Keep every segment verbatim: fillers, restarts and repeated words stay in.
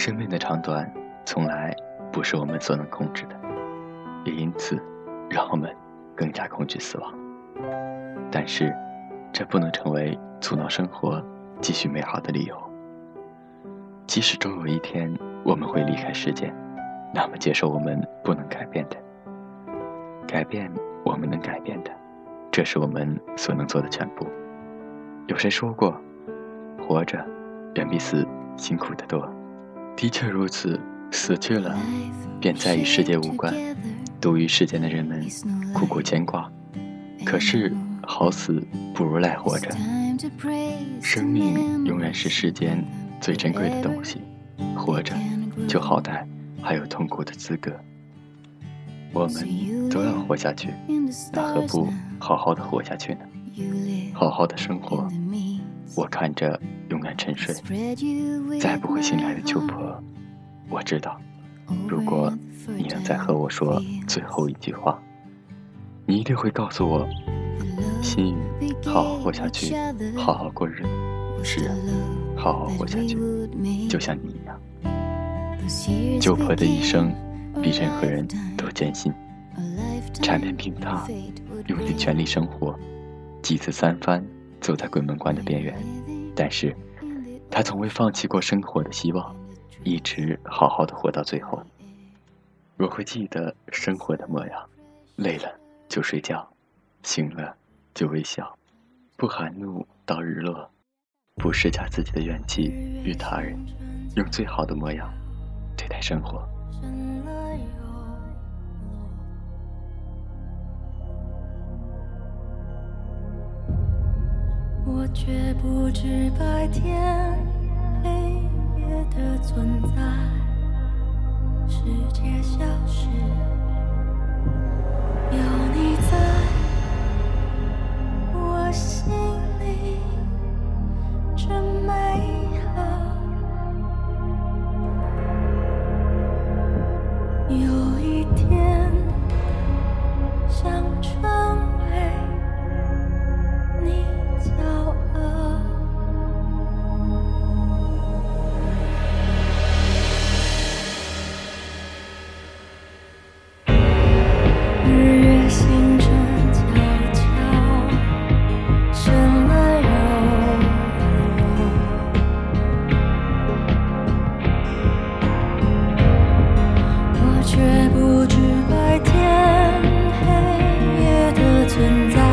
生命的长短从来不是我们所能控制的，也因此让我们更加恐惧死亡。但是这不能成为阻挠生活继续美好的理由。即使终有一天我们会离开世间，那么接受我们不能改变的，改变我们能改变的，这是我们所能做的全部。有谁说过，活着远比死辛苦得多。的确如此，死去了便再与世界无关，独于世间的人们苦苦牵挂。可是好死不如赖活着，生命永远是世间最珍贵的东西，活着就好歹还有痛苦的资格。我们都要活下去，那何不好好的活下去呢？好好的生活。我看着永远沉睡再不会醒来的秋婆，我知道，如果你能再和我说最后一句话，你一定会告诉我，心语，好好活下去，好好过日子。是啊，好好活下去，就像你一样。秋婆的一生比任何人都艰辛，缠绵病榻，用尽全力生活，几次三番走在鬼门关的边缘，但是他从未放弃过生活的希望，一直好好的活到最后。我会记得生活的模样，累了就睡觉，醒了就微笑，不含怒到日落，不施加自己的怨气与他人，用最好的模样对待生活。 我却不知白天黑夜的存在，世界消失，有你在我心里真美好。有一天想成为你骄傲，日月星辰悄悄深了又落，我却不知白天黑夜的存在，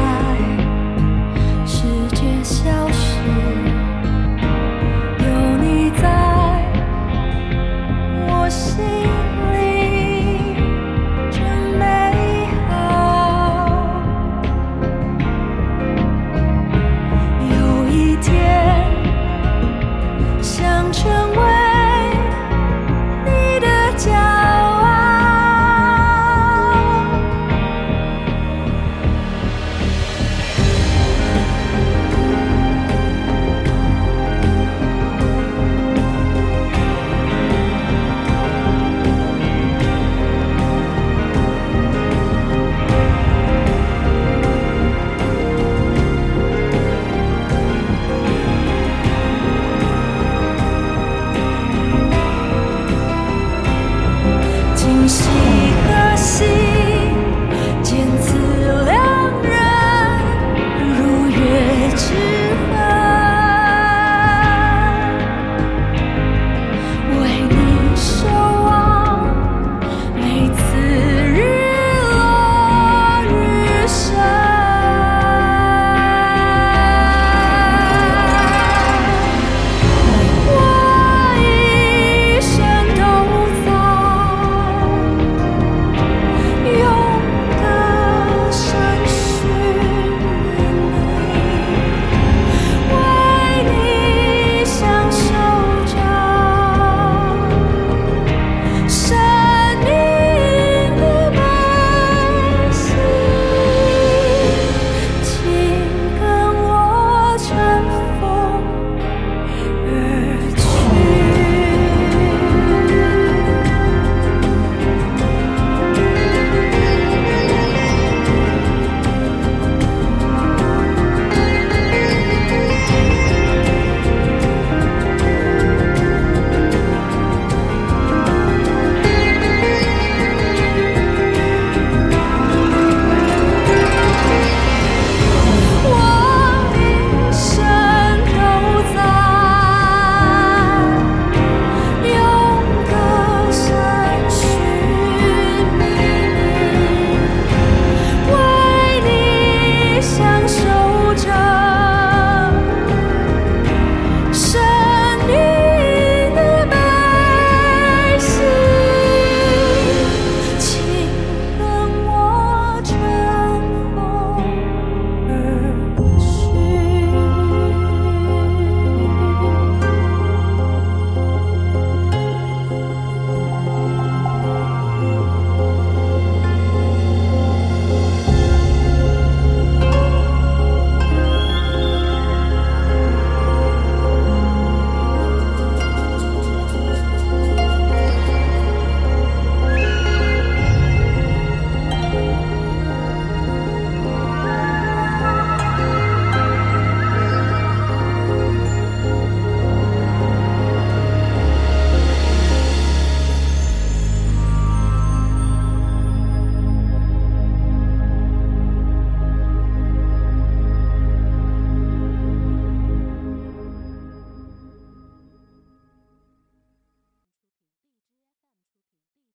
消失，有你在我心里真美好。有一天想成为